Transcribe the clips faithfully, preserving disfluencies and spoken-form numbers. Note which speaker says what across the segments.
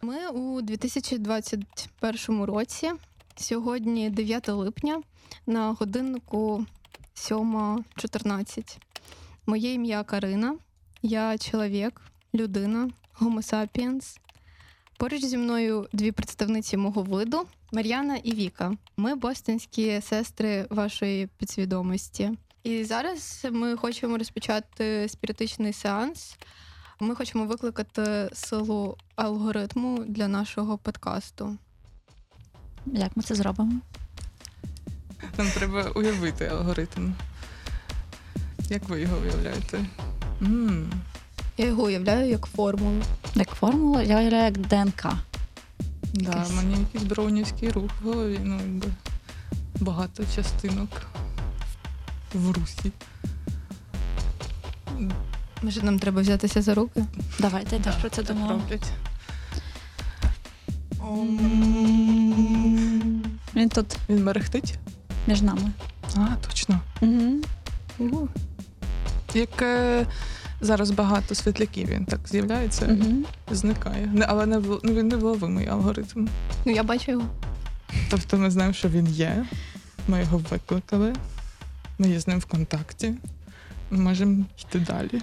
Speaker 1: Ми у дві тисячі двадцять першому році, сьогодні дев'яте липня, на годиннику сьома чотирнадцять. Моє ім'я Карина, я чоловік, людина, Homo sapiens. Поруч зі мною дві представниці мого виду – Мар'яна і Віка. Ми бостонські сестри вашої підсвідомості. І зараз ми хочемо розпочати спіритичний сеанс. Ми хочемо викликати силу алгоритму для нашого подкасту.
Speaker 2: Як ми це зробимо?
Speaker 3: Нам треба уявити алгоритм. Як ви його уявляєте? М.
Speaker 1: Я його уявляю як формулу.
Speaker 2: Як формула, я уявляю як ДНК.
Speaker 3: Да,
Speaker 2: Якийсь.
Speaker 3: мені якийсь броунівський рух в голові, ну, якби багато частинок в русі.
Speaker 1: Може, нам треба взятися за руки?
Speaker 2: Давайте, я теж
Speaker 3: Да,
Speaker 2: про це
Speaker 3: так
Speaker 2: думала.
Speaker 3: роблять.
Speaker 2: Він тут
Speaker 3: Він мерехтить?
Speaker 2: між нами.
Speaker 3: А, точно.
Speaker 2: Угу.
Speaker 3: Як е, зараз багато світляків, він так з'являється,
Speaker 2: Угу.
Speaker 3: зникає. Не, але не, в- ну, він невловимий алгоритм.
Speaker 1: Ну, я бачу його.
Speaker 3: Тобто ми знаємо, що він є, ми його викликали, ми є з ним в контакті, ми можемо йти далі.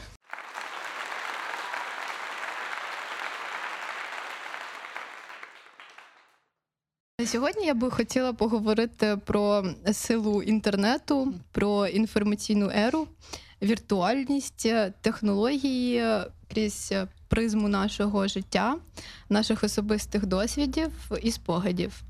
Speaker 1: Сьогодні я би хотіла поговорити про силу інтернету, про інформаційну еру, віртуальність, технології крізь призму нашого життя, наших особистих досвідів і спогадів.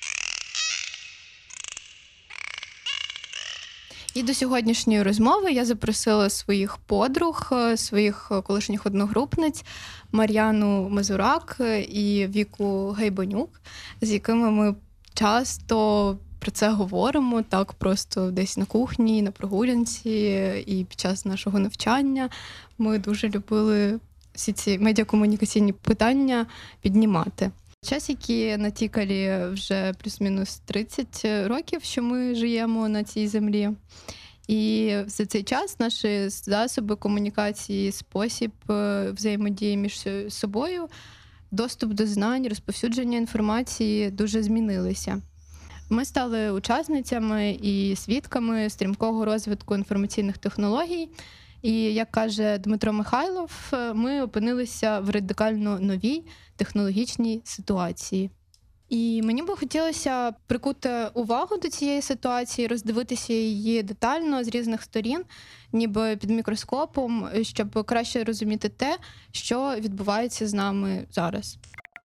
Speaker 1: І до сьогоднішньої розмови я запросила своїх подруг, своїх колишніх одногрупниць Мар'яну Мазурак і Віку Гайбанюк, з якими ми часто про це говоримо, так просто десь на кухні, на прогулянці і під час нашого навчання. Ми дуже любили всі ці медіакомунікаційні питання піднімати. Час, який натікалі вже плюс-мінус тридцять років, що ми живемо на цій землі. І за цей час наші засоби комунікації, спосіб взаємодії між собою, доступ до знань, розповсюдження інформації дуже змінилися. Ми стали учасницями і свідками стрімкого розвитку інформаційних технологій. І, як каже Дмитро Михайлов, ми опинилися в радикально новій технологічній ситуації. І мені би хотілося прикути увагу до цієї ситуації, роздивитися її детально з різних сторін, ніби під мікроскопом, щоб краще розуміти те, що відбувається з нами зараз.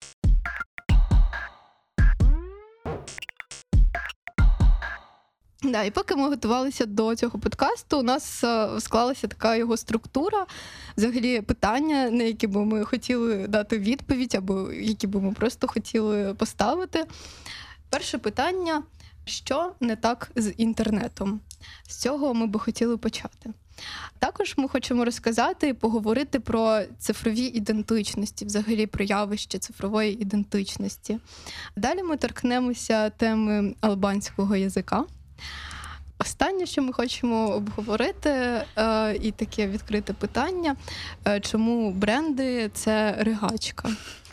Speaker 1: Да, і поки ми готувалися до цього подкасту, у нас е, склалася така його структура, взагалі питання, на які би ми хотіли дати відповідь, або які би ми просто хотіли поставити. Перше питання – що не так з інтернетом? З цього ми би хотіли почати. Також ми хочемо розказати і поговорити про цифрові ідентичності, взагалі про явище цифрової ідентичності. Далі ми торкнемося теми албанського язика. Останнє, що ми хочемо обговорити, е, і таке відкрите питання, е, чому бренди – це ригачка.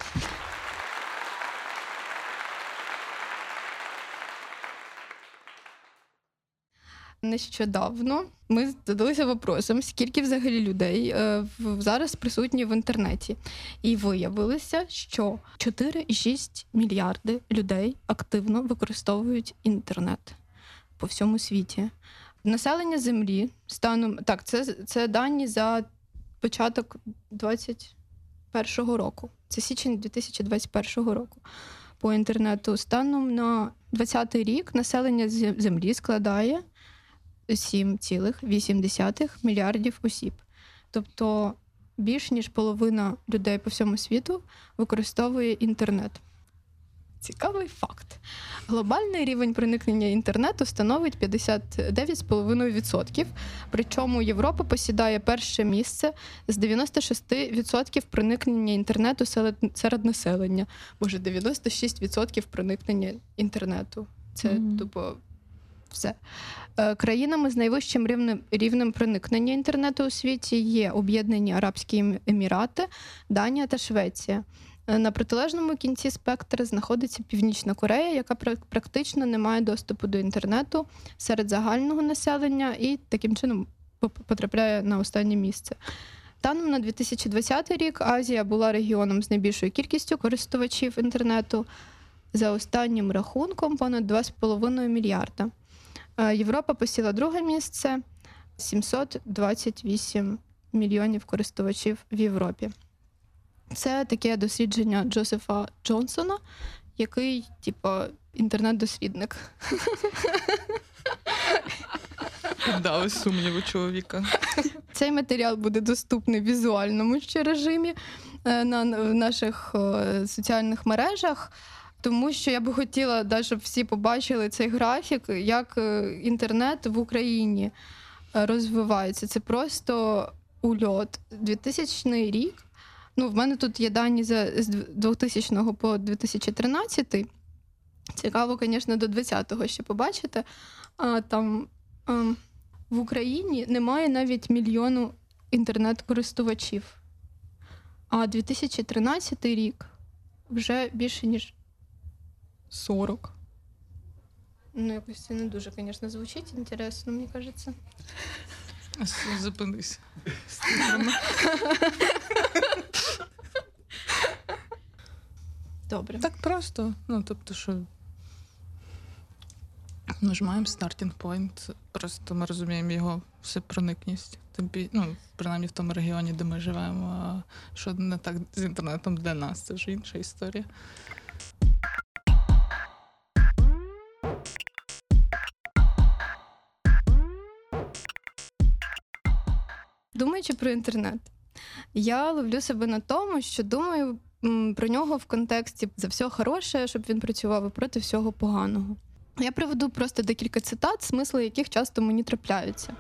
Speaker 1: Нещодавно ми задалися вопросом, скільки взагалі людей е, в, зараз присутні в інтернеті. І виявилося, що чотири цілих шість мільярди людей активно використовують інтернет по всьому світі. Населення Землі станом... Так, це, це дані за початок двадцять першого року. Це січень дві тисячі двадцять першого року. По інтернету станом на двадцятий рік населення Землі складає сім цілих вісім десятих мільярдів осіб. Тобто більш ніж половина людей по всьому світу використовує інтернет. Цікавий факт. Глобальний рівень проникнення інтернету становить п'ятдесят дев'ять цілих п'ять десятих відсотка, причому Європа посідає перше місце з дев'яносто шість відсотків проникнення інтернету серед населення. Боже, дев'яносто шість відсотків проникнення інтернету. Це, mm-hmm. тупо, все. Країнами з найвищим рівнем, рівнем проникнення інтернету у світі є Об'єднані Арабські Емірати, Данія та Швеція. На протилежному кінці спектра знаходиться Північна Корея, яка практично не має доступу до інтернету серед загального населення і таким чином потрапляє на останнє місце. Станом на дві тисячі двадцятий рік Азія була регіоном з найбільшою кількістю користувачів інтернету. За останнім рахунком понад два з половиною мільярда. Європа посіла друге місце – сімсот двадцять вісім мільйонів користувачів в Європі. Це таке дослідження Джозефа Джонсона, який, типу, інтернет-дослідник.
Speaker 3: Піддали сумніву чоловіка.
Speaker 1: Цей матеріал буде доступний в візуальному ще режимі на наших соціальних мережах, тому що я би хотіла, да, щоб всі побачили цей графік, як інтернет в Україні розвивається. Це просто ульот. двохтисячний рік. Ну, в мене тут є дані за, з двохтисячного по дві тисячі тринадцятий. Цікаво, звісно, до двадцятого ще побачити. А, там а, в Україні немає навіть мільйону інтернет-користувачів. А дві тисячі тринадцятий рік вже більше, ніж сорок. Ну, якось це не дуже, звісно, звучить інтересно, мені кажеться.
Speaker 3: Зупинись.
Speaker 1: Добре.
Speaker 3: Так просто. Ну, тобто, що ми ж маємо starting point, просто ми розуміємо його всепроникність. Ну, принаймні в тому регіоні, де ми живемо, а що не так з інтернетом для нас, це вже інша історія.
Speaker 1: Думаючи про інтернет, я ловлю себе на тому, що думаю про нього в контексті за все хороше, щоб він працював, і проти всього поганого. Я приведу просто декілька цитат, смисли яких часто мені трапляються.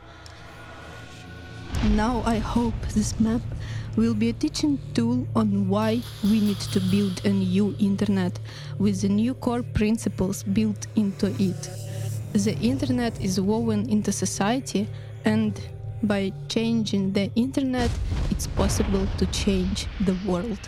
Speaker 1: Now I hope this map will be a teaching tool on why we need to build a new internet with the new core principles built into it. The internet is woven into society, and by changing the internet, it's possible to change the world.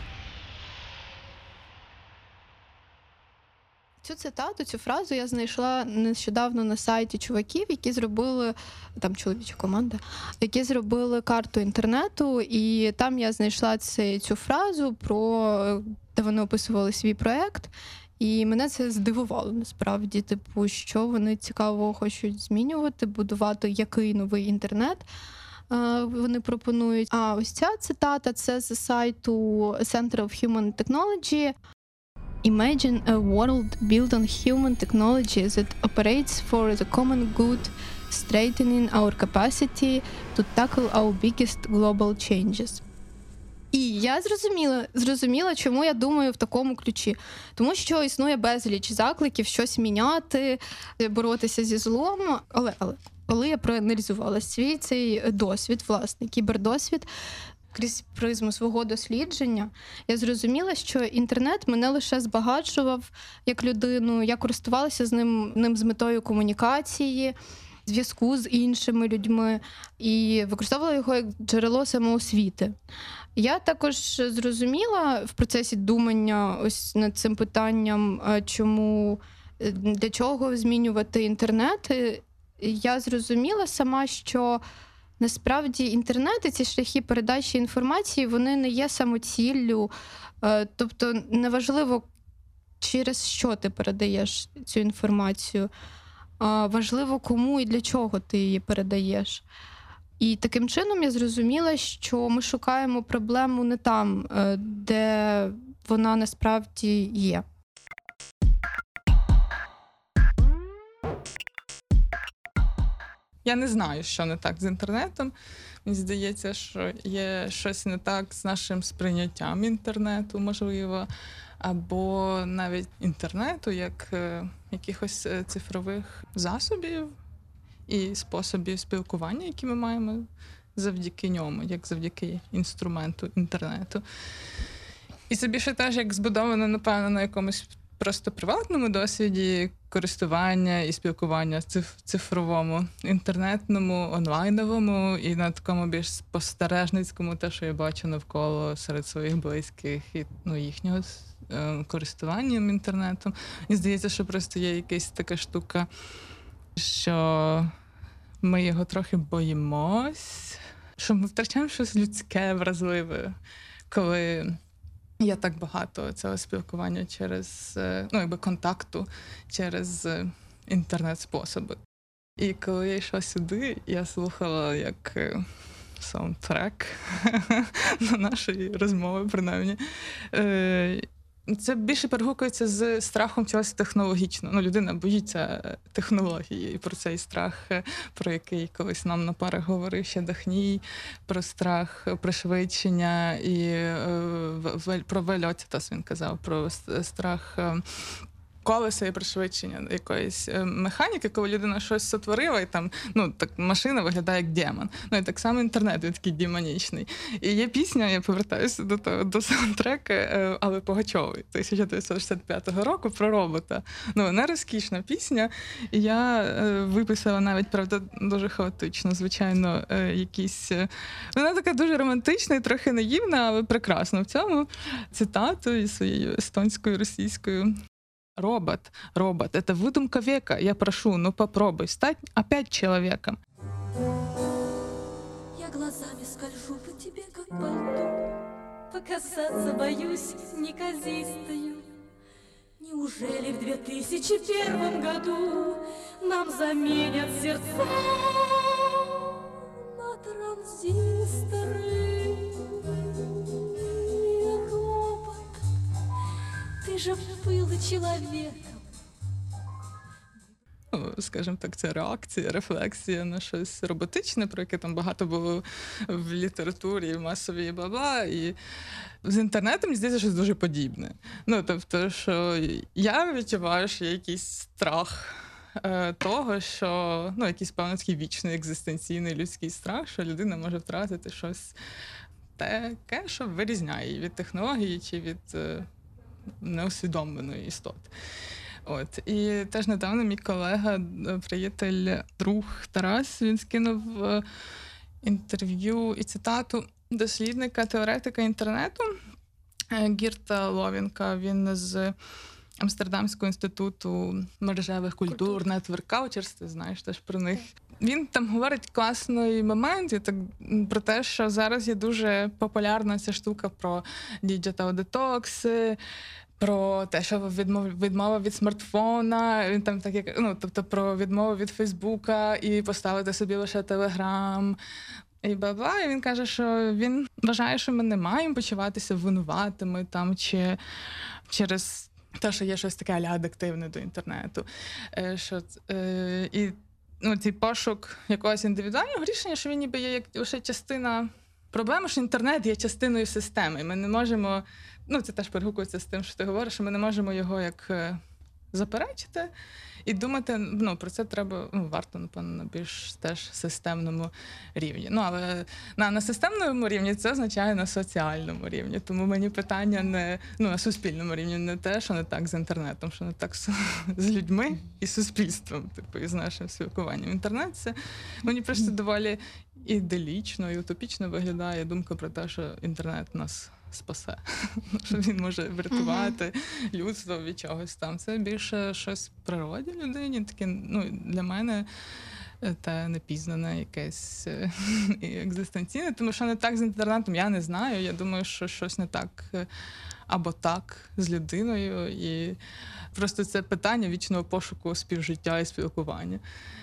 Speaker 1: Цю цитату, цю фразу я знайшла нещодавно на сайті чуваків, які зробили, там чоловіча команда, які зробили карту інтернету, і там я знайшла цю, цю фразу, про, де вони описували свій проєкт, і мене це здивувало насправді, типу, що вони цікаво хочуть змінювати, будувати який новий інтернет вони пропонують. А ось ця цитата, це з сайту Center of Human Technology. Imagine a world built on human technology that operates for the common good, strengthening our capacity to tackle our biggest global changes. І я зрозуміла, зрозуміла, чому я думаю в такому ключі. Тому що існує безліч закликів щось міняти, боротися зі злом. Але, але коли я проаналізувала свій цей досвід, власне, кібердосвід, крізь призму свого дослідження, я зрозуміла, що інтернет мене лише збагачував як людину, я користувалася з ним, ним з метою комунікації, зв'язку з іншими людьми і використовувала його як джерело самоосвіти. Я також зрозуміла в процесі думання ось над цим питанням, чому, для чого змінювати інтернет. Я зрозуміла сама, що насправді інтернет і ці шляхи передачі інформації, вони не є самоціллю. Тобто неважливо, через що ти передаєш цю інформацію, важливо, кому і для чого ти її передаєш. І таким чином я зрозуміла, що ми шукаємо проблему не там, де вона насправді є.
Speaker 3: Я не знаю, що не так з інтернетом. Мені здається, що є щось не так з нашим сприйняттям інтернету, можливо, або навіть інтернету, як е, якихось цифрових засобів і способів спілкування, які ми маємо завдяки ньому, як завдяки інструменту інтернету. І це більше теж як збудовано, напевно, на якомусь просто приватному досвіді, користування і спілкування циф- цифровому, інтернетному, онлайновому і на такому більш спостережницькому, те, що я бачу навколо серед своїх близьких і ну, їхнього е, користуванням інтернетом. Мені здається, що просто є якась така штука, що ми його трохи боїмось, що ми втрачаємо щось людське, вразливе, коли є так багато цього спілкування через, ну, якби контакту через інтернет-способи. І коли я йшла сюди, я слухала як саундтрек на нашої розмови, принаймні. Це більше перегукується з страхом чогось технологічного. Ну, людина боїться технології, і про цей страх, про який колись нам на парах говорив ще Дахній, про страх пришвидшення і е, про вельотітас він казав, про страх колеса і пришвидшення якоїсь механіки, коли людина щось сотворила, і там, ну, так машина виглядає як демон. Ну, і так само інтернет, він такий демонічний. І є пісня, я повертаюся до того, до саундтрека Алли Пугачової тисяча дев'ятсот шістдесят п'ятого року про робота. Ну, вона розкішна пісня, і я виписала навіть, правда, дуже хаотично, звичайно, якісь... Вона така дуже романтична і трохи наївна, але прекрасна в цьому цитату із своєю естонською, російською. Робот, робот, это выдумка века. Я прошу, ну попробуй стать опять человеком.
Speaker 4: Я глазами скольжу по тебе, как по льду, показаться боюсь неказистою. Неужели в две тысячи первом году нам заменят сердца на транзисторы? Ти ж був чоловіком.
Speaker 3: Ну, скажімо так, це реакція, рефлексія на щось роботичне, про яке там багато було в літературі, в масовій і бла-бла. І з інтернетом, мені здається, щось дуже подібне. Ну, тобто, що я відчуваю, що є якийсь страх е, того, що, ну, якийсь, певно, такий вічний, екзистенційний людський страх, що людина може втратити щось таке, що вирізняє її від технології чи від... Е, неусвідомленої істоти. От. І теж недавно мій колега, приятель, друг Тарас, він скинув інтерв'ю і цитату дослідника, теоретика інтернету Гірта Ловінка. Він з Амстердамського інституту мережевих культур, Network Cultures, ти знаєш теж про них. Він там говорить класний момент і так, про те, що зараз є дуже популярна ця штука про digital detox, про те, що відмов, відмова від смартфона, він там так як, ну, тобто про відмову від Фейсбука і поставити собі лише Телеграм. І бла-бла, і він каже, що він вважає, що ми не маємо почуватися винуватими там, чи через те, що є щось таке а-ля адиктивне до інтернету. Е, що, е, і ну, цей пошук якогось індивідуального рішення, що він ніби є як лише частина проблеми, що інтернет є частиною системи. Ми не можемо, ну це теж перегукується з тим, що ти говориш, що ми не можемо його як заперечити і думати, ну, про це треба, ну, варто, напевно, на більш теж системному рівні. Ну, але на, на системному рівні це означає на соціальному рівні. Тому мені питання не, ну, на суспільному рівні не те, що не так з інтернетом, що не так з, з людьми і суспільством, типу, і з нашим спілкуванням. Інтернет – це мені просто доволі іделічно і утопічно виглядає думка про те, що інтернет нас спасе, що він може врятувати mm-hmm. людство від чогось там. Це більше щось в природі людині, таке, ну, для мене те непізнане якесь екзистенційне, тому що не так з інтернетом, я не знаю, я думаю, що щось не так або так з людиною, і просто це питання вічного пошуку співжиття і спілкування.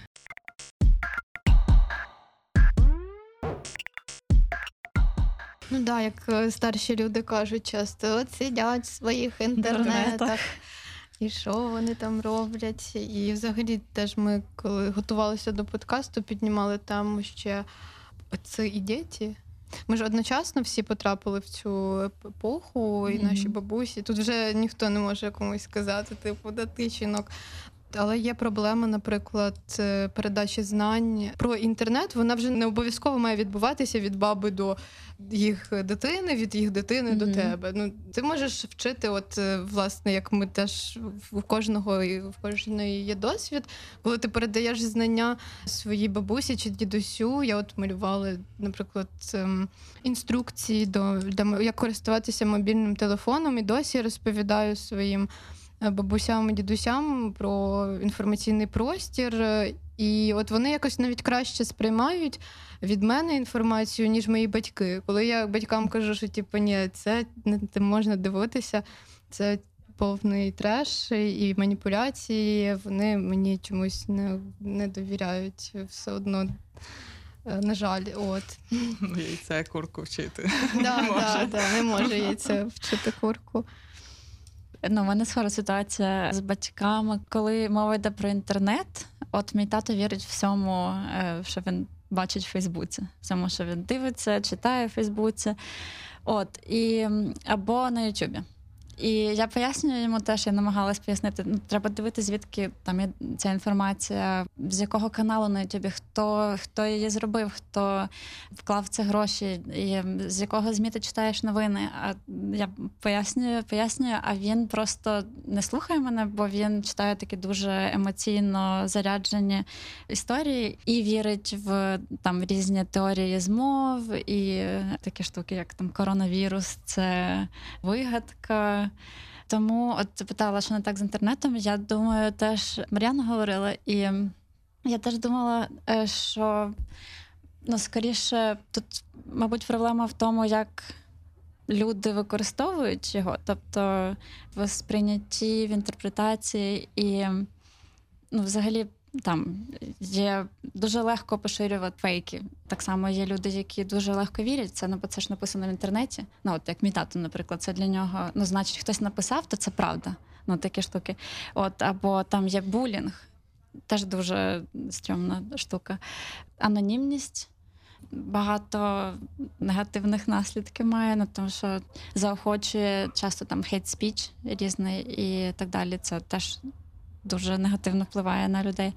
Speaker 1: Ну так, да, як старші люди кажуть часто, от сидять в своїх інтернетах, і що вони там роблять. І взагалі теж ми, коли готувалися до подкасту, піднімали тему ще «Отці і діти». Ми ж одночасно всі потрапили в цю епоху, і наші бабусі. Тут вже ніхто не може комусь сказати, типу, да ти, жінок. Але є проблема, наприклад, е, передачі знань про інтернет. Вона вже не обов'язково має відбуватися від баби до їх дитини, від їх дитини mm-hmm. до тебе. Ну, ти можеш вчити, от, е, власне, як ми теж в кожного і в кожної є досвід, коли ти передаєш знання своїй бабусі чи дідусю. Я от малювала, наприклад, ем, інструкції до, для, як користуватися мобільним телефоном, і досі розповідаю своїм бабусям і дідусям про інформаційний простір. І от вони якось навіть краще сприймають від мене інформацію, ніж мої батьки. Коли я батькам кажу, що типу, ні, це не можна дивитися, це повний треш і маніпуляції, вони мені чомусь не, не довіряють все одно. На жаль, от.
Speaker 3: Яйце курку вчити.
Speaker 1: Да, не, да, да, не може яйце вчити курку.
Speaker 2: Ну, у мене схожа ситуація з батьками. Коли мова йде про інтернет, от мій тато вірить всьому, що він бачить в Фейсбуці. Всьому, що він дивиться, читає в Фейсбуці. От, і, або на Ютубі. І я пояснюю йому теж, я намагалась пояснити, ну, треба дивитися, звідки там є ця інформація, з якого каналу на Ютубі, хто, хто її зробив, хто вклав в це гроші, і з якого ЗМІ ти читаєш новини. А я пояснюю, пояснюю, а він просто не слухає мене, бо він читає такі дуже емоційно заряджені історії і вірить в там різні теорії змов і такі штуки, як там коронавірус, це вигадка. Тому от ти питала, що не так з інтернетом, я думаю, теж Мар'яна говорила, і я теж думала, що, ну, скоріше, тут, мабуть, проблема в тому, як люди використовують його, тобто в сприйнятті, в інтерпретації і, ну, взагалі, там є дуже легко поширювати фейки. Так само є люди, які дуже легко вірять. Це, ну, бо це ж написано в інтернеті. Ну, от як мій тато, наприклад, це для нього, ну, значить, хтось написав, то це правда. Ну, такі штуки. От, або там є булінг. Теж дуже стрьомна штука. Анонімність багато негативних наслідків має, ну, тому що заохочує часто там хейт-спіч різний і так далі. Це теж дуже негативно впливає на людей.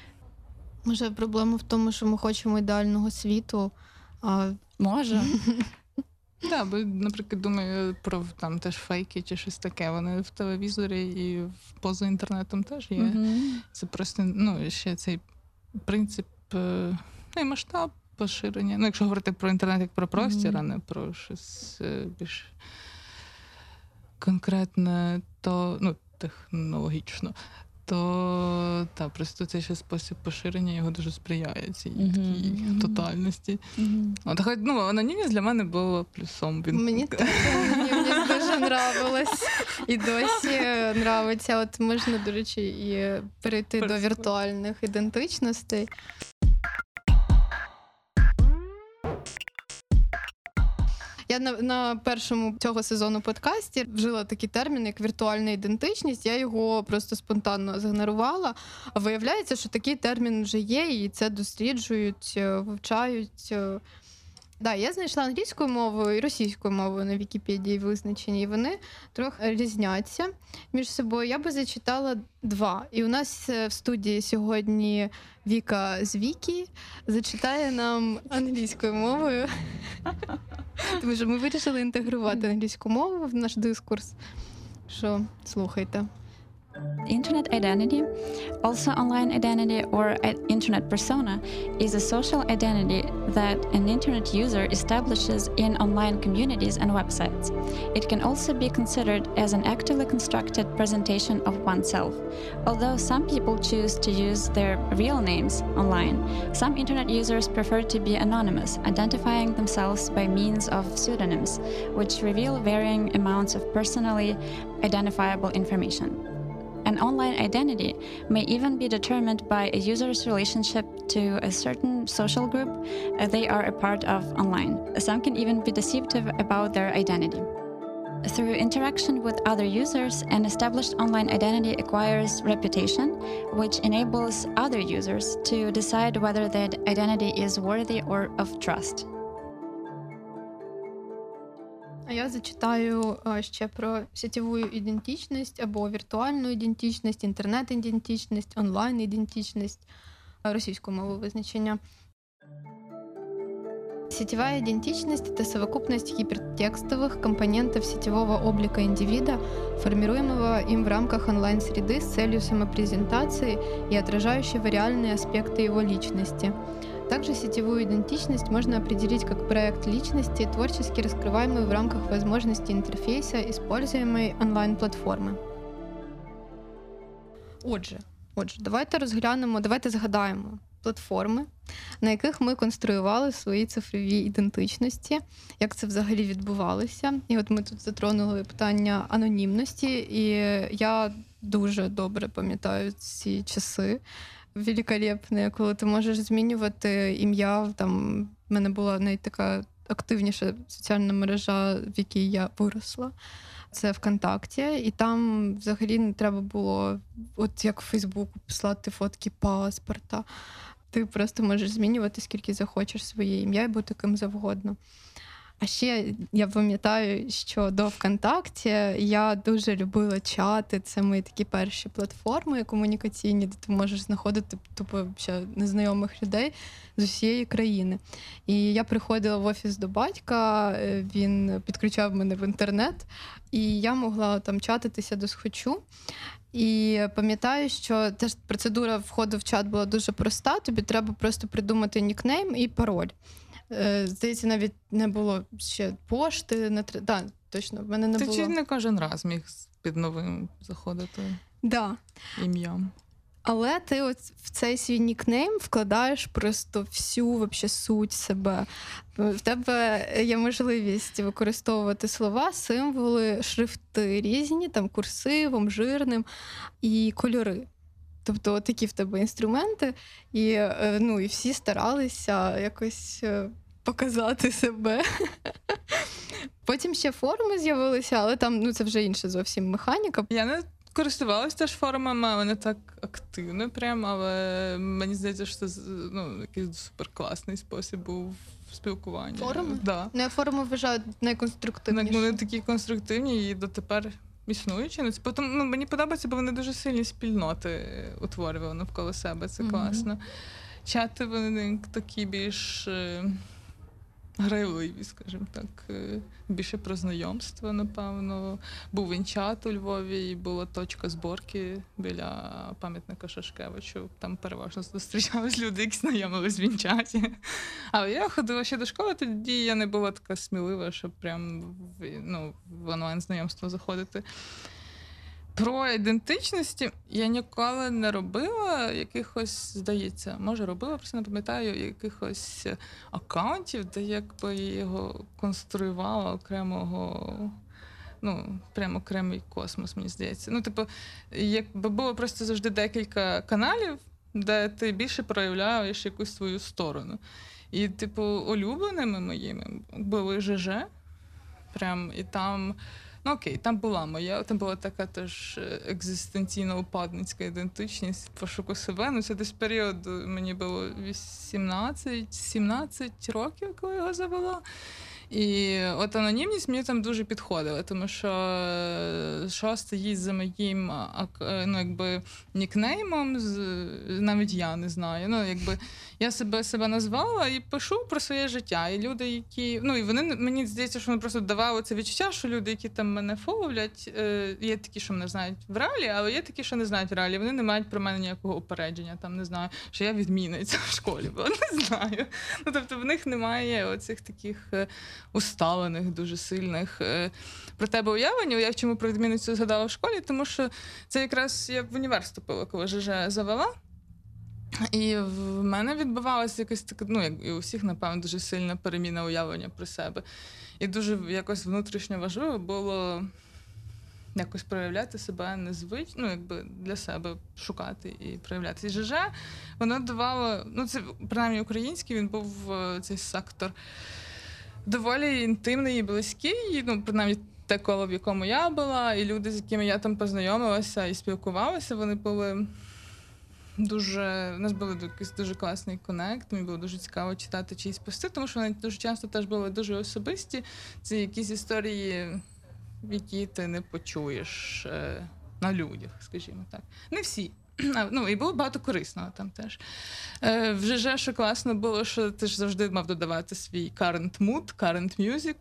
Speaker 1: Може, проблема в тому, що ми хочемо ідеального світу, а
Speaker 2: може.
Speaker 3: Так, бо, наприклад, думаю про там теж фейки чи щось таке. Вони в телевізорі і поза інтернетом теж є. Mm-hmm. Це просто, ну, ще цей принцип, ну, і масштаб поширення. Ну, якщо говорити про інтернет як про простір, mm-hmm. а не про щось більш конкретне, то, ну, технологічно, то та, просто цей ще спосіб поширення його дуже сприяє цій mm-hmm. такій mm-hmm. тотальності. Mm-hmm. От, хоч, ну, анонімність для мене була плюсом. Він...
Speaker 1: Мені так анонімність дуже нравилась. І досі нравиться. От можна, до речі, і перейти Перспект. до віртуальних ідентичностей. Я на, на першому цього сезону подкасті вжила такий термін, як віртуальна ідентичність. Я його просто спонтанно зігнорувала. А виявляється, що такий термін вже є, і це досліджують, вивчають. Да, я знайшла англійською мовою і російською мовою на Вікіпедії визначені, і вони трохи різняться між собою. Я би зачитала два. І у нас в студії сьогодні Віка з Вікі зачитає нам англійською мовою. Тому що ми вирішили інтегрувати англійську мову в наш дискурс. Що, слухайте.
Speaker 2: Internet identity, also online identity or internet persona, is a social identity that an internet user establishes in online communities and websites. It can also be considered as an actively constructed presentation of oneself. Although some people choose to use their real names online, some internet users prefer to be anonymous, identifying themselves by means of pseudonyms, which reveal varying amounts of personally identifiable information. An online identity may even be determined by a user's relationship to a certain social group they are a part of online. Some can even be deceptive about their identity. Through interaction with other users, an established online identity acquires reputation, which enables other users to decide whether that identity is worthy or of trust.
Speaker 1: А я зачитаю а, ще про сетєву ідентичність або віртуальну ідентичність, інтернет-ідентичність, онлайн-ідентичність, російською мовою визначення. Сетевая идентичность – это совокупность гипертекстовых компонентов сетевого облика индивида, формируемого им в рамках онлайн-среды с целью самопрезентации и отражающего реальные аспекты его личности. Также сетевую идентичность можно определить как проект личности, творчески раскрываемый в рамках возможностей интерфейса, используемой онлайн-платформи. Отже, отже, давайте розглянемо, давайте згадаємо платформи, на яких ми конструювали свої цифрові ідентичності, як це взагалі відбувалося. І от ми тут затронули питання анонімності, і я дуже добре пам'ятаю ці часи великолепні, коли ти можеш змінювати ім'я. Там в мене була навіть така активніша соціальна мережа, в якій я виросла. Це ВКонтакті, і там взагалі не треба було, от як в Фейсбуку, писати фотки паспорта. Ти просто можеш змінювати, скільки захочеш своє ім'я і бути ким завгодно. А ще я пам'ятаю, що до ВКонтакті я дуже любила чати. Це мої такі перші платформи комунікаційні, де ти можеш знаходити тупо ще незнайомих людей з усієї країни. І я приходила в офіс до батька, він підключав мене в інтернет, і я могла там чатитися до схочу. І пам'ятаю, що теж процедура входу в чат була дуже проста. Тобі треба просто придумати нікнейм і пароль. Здається, навіть не було ще пошти. Не тр... да, точно, в мене не
Speaker 3: Ти
Speaker 1: було.
Speaker 3: чи не кожен раз міг під новим заходити
Speaker 1: Да.
Speaker 3: ім'ям?
Speaker 1: Але ти от в цей свій нікнейм вкладаєш просто всю вообще суть себе. В тебе є можливість використовувати слова, символи, шрифти різні, там курсивом, жирним і кольори. Тобто такі в тебе інструменти, і, ну, і всі старалися якось показати себе. Потім ще форуми з'явилися, але там, ну, це вже інша зовсім механіка.
Speaker 3: Я не користувалась теж форумами, але не так активно прям, але мені здається, що це, ну, якийсь суперкласний спосіб був спілкування.
Speaker 1: Форуми?
Speaker 3: Да.
Speaker 1: Ну, я форуми вважаю найконструктивніші.
Speaker 3: Вони такі конструктивні і дотепер існуючі. Ну, це потім, ну, мені подобається, бо вони дуже сильні спільноти утворювали навколо себе. Це mm-hmm. класно. Чати вони такі більш е, грайливі, скажімо так. Е, більше про знайомство, напевно. Був інчат у Львові, і була точка зборки біля пам'ятника Шашкевичу. Там переважно зустрічались люди, які знайомились в інчаті. Але я ходила ще до школи, тоді я не була така смілива, щоб прям в, ну, в онлайн-знайомство заходити. Про ідентичності я ніколи не робила якихось, здається, може робила, просто не пам'ятаю, якихось акаунтів, де якби його конструювала окремого, ну, прямо окремий космос, мені здається. Ну, типу, якби було просто завжди декілька каналів, де ти більше проявляєш якусь свою сторону. І, типу, улюбленими моїми були ЖЖ, прям, і там... Ну окей, там була моя, там була така теж екзистенційно-упадницька ідентичність, пошуку себе. Ну це десь період, мені було вісімнадцять-сімнадцять років, коли його завела. І от анонімність мені там дуже підходила, тому що що стоїть за моїм, ну, якби, нікнеймом, навіть я не знаю. Ну, якби, я себе себе назвала і пишу про своє життя. І люди, які, ну, і вони, мені здається, що вони просто давали це відчуття, що люди, які там мене фоловлять, є такі, що мене знають в реалі, але є такі, що не знають в реалі. Вони не мають про мене ніякого упередження, там, не знаю, що я відмінниця в школі, бо не знаю. Ну, тобто в них немає оцих таких усталених, дуже сильних про тебе уявлень. Я чому про відмінницю згадала в школі, тому що це якраз я в універ вступила, коли ЖЖ завела. І в мене відбувалася якась така, ну, як і у всіх, напевно, дуже сильна переміна уявлення про себе. І дуже якось внутрішньо важливо було якось проявляти себе незвично, ну, якби для себе шукати і проявляти. І ЖЖ, воно давало, ну, це, принаймні, український, він був цей сектор доволі інтимний і близький, ну, принаймні, те коло, в якому я була, і люди, з якими я там познайомилася і спілкувалася, вони були дуже, у нас був якийсь дуже класний коннект, мені було дуже цікаво читати чиїсь пости, тому що вони дуже часто теж були дуже особисті. Це якісь історії, які ти не почуєш е, на людях, скажімо так. Не всі. Ну, і було багато корисного там теж. Е, в ЖЖ, що класно було, що ти ж завжди мав додавати свій current mood, current music.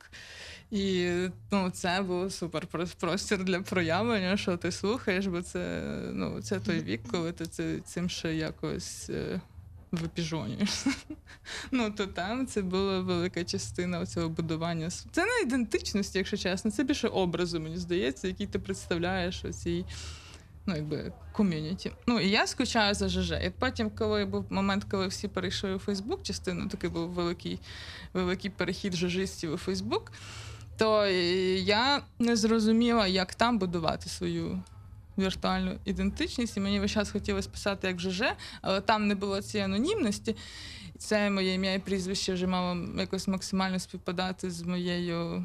Speaker 3: І ну, це був супер простір для проявлення, що ти слухаєш, бо це, ну, це той вік, коли ти це, цим ще якось е, випіжонюєшся. Ну, то там це була велика частина цього будування. Це не ідентичності, якщо чесно, це більше образу, мені здається, який ти представляєш у цій, ну, якби, ком'юніті. Ну, і я скучаю за ЖЖ. І потім, коли був момент, коли всі перейшли у Фейсбук, частину, такий був великий, великий перехід жижистів у Фейсбук, то я не зрозуміла, як там будувати свою віртуальну ідентичність, і мені весь час хотілося писати як ЖЖ, але там не було цієї анонімності. Це моє ім'я і прізвище вже мало якось максимально співпадати з моєю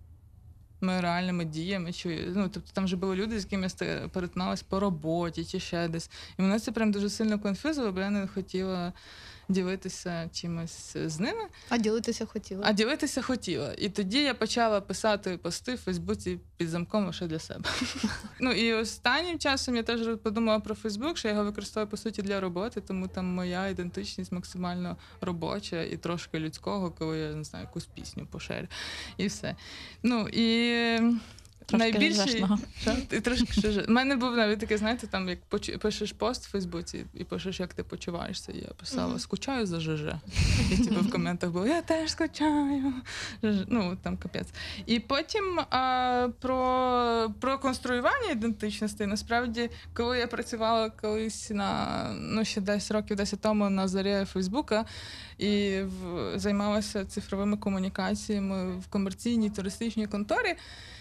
Speaker 3: моїми реальними діями. Чи, ну, тобто там вже були люди, з якими я перетиналась по роботі чи ще десь. І мене це прям дуже сильно конфузило, бо я не хотіла ділитися чимось з ними.
Speaker 1: А ділитися хотіла?
Speaker 3: А ділитися хотіла. І тоді я почала писати пости в Фейсбуці під замком лише для себе. Ну і останнім часом я теж подумала про Фейсбук, що я його використовую, по суті, для роботи, тому там моя ідентичність максимально робоча і трошки людського, коли я, не знаю, якусь пісню поширю. І все. Ну і...
Speaker 2: Трошки
Speaker 3: найбільший... І трошки ще... У мене був навіть таке, знаєте, там, як поч... пишеш пост в Фейсбуці і пишеш, як ти почуваєшся. І я писала, mm-hmm. скучаю за ЖЖ. І типу в коментах було, я теж скучаю. Ну, там капець. І потім а, про... про конструювання ідентичності. Насправді, коли я працювала колись на, ну, ще десь років десять тому на зарі Фейсбука і в... займалася цифровими комунікаціями в комерційній туристичній конторі,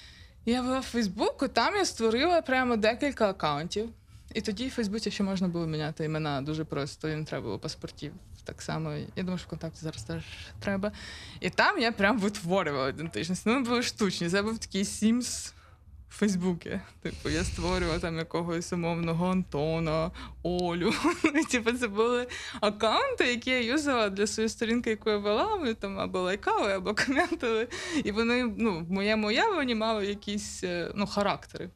Speaker 3: я була в Фейсбуку, там я створила прямо декілька акаунтів. І тоді в Фейсбуці ще можна було міняти імена дуже просто, і не треба було паспортів. Так само, я думаю, що ВКонтакті зараз теж треба. І там я прям витворювала ідентичність. Ну, були штучні, це був такий Sims в Фейсбуці. Типу, я створювала там якогось умовного Антона, Олю. І, типу, це були акаунти, які я юзала для своєї сторінки, яку я вела. Вони там або лайкали, або коментили. І вони, ну, в моєму уявленні мали якісь, ну, характери.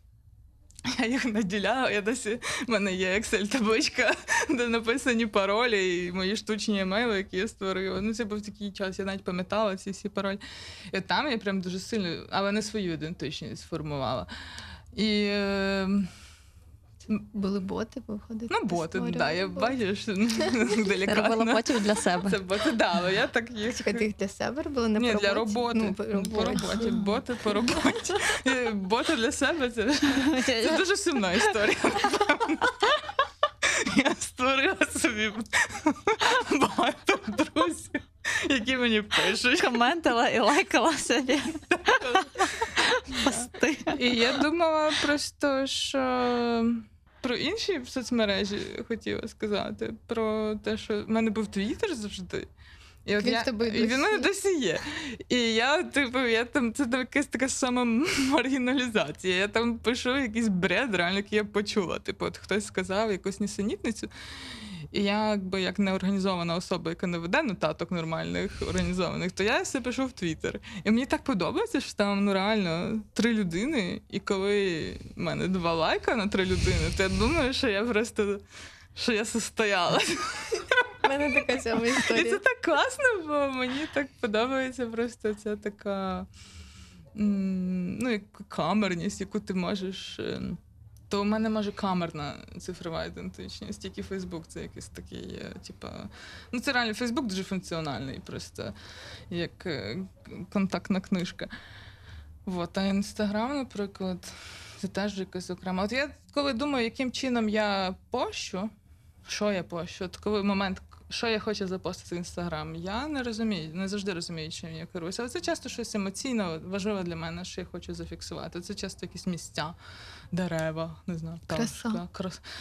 Speaker 3: Я їх наділяла, я досі, в мене є Excel-табличка, де написані паролі і мої штучні емейли, які я створила. Ну, це був такий час, я навіть пам'ятала ці всі паролі. І там я прям дуже сильно, але не свою ідентичність сформувала. І... Е...
Speaker 1: Були боти, виходить?
Speaker 3: Ну, боти, так, да, я бачиш, делікатно.
Speaker 2: Це робила ботів для себе.
Speaker 3: Це боти, да, але я так їх...
Speaker 1: Чекай, ти їх для себе робила, не
Speaker 3: Ні,
Speaker 1: по
Speaker 3: для
Speaker 1: роботі?
Speaker 3: роботи.
Speaker 1: Ну, по роботі.
Speaker 3: По роботі. Боти по роботі. Боти для себе, це, це дуже сумна історія. Я створила собі багато друзів, які мені пишуть.
Speaker 2: Коментила і лайкала собі пости.
Speaker 3: І я думала просто, що... Про інші соцмережі хотіла сказати. Про те, що в мене був Твіттер завжди. І от
Speaker 1: він
Speaker 3: я,
Speaker 1: в тебе
Speaker 3: і він в мене досі є. І я, типу, я там, це якась така сама маргіналізація. Я там пишу якийсь бред, реально, який я почула. Типу, от хтось сказав якусь нісенітницю. І я, якби, як неорганізована особа, яка не веде нотаток нормальних, організованих, то я все пишу в Твіттер. І мені так подобається, що там, ну, реально три людини, і коли в мене два лайка на три людини, то я думаю, що я просто, що я состоялась.
Speaker 1: У мене така сама історія.
Speaker 3: І це так класно, бо мені так подобається просто ця така, ну, як камерність, яку ти можеш... То в мене, може, камерна цифрова ідентичність, тільки Фейсбук це якийсь такий, типа... Ну, це реально, Фейсбук дуже функціональний, просто як контактна книжка. Вот. А Інстаграм, наприклад, це теж якось окремо. От я коли думаю, яким чином я пощу, що я пощу, от коли момент, що я хочу запостити в Інстаграм, я не розумію, не завжди розумію, чим я керуюся. Але це часто щось емоційно важливе для мене, що я хочу зафіксувати. Це часто якісь місця, дерева, не знаю, пташка, краса.